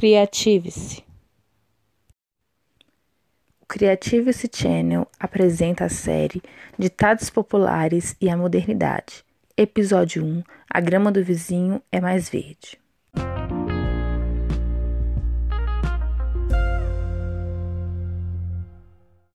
Creative-se. O Creative-se Channel apresenta a série Ditados Populares e a Modernidade. Episódio 1. A grama do vizinho é mais verde.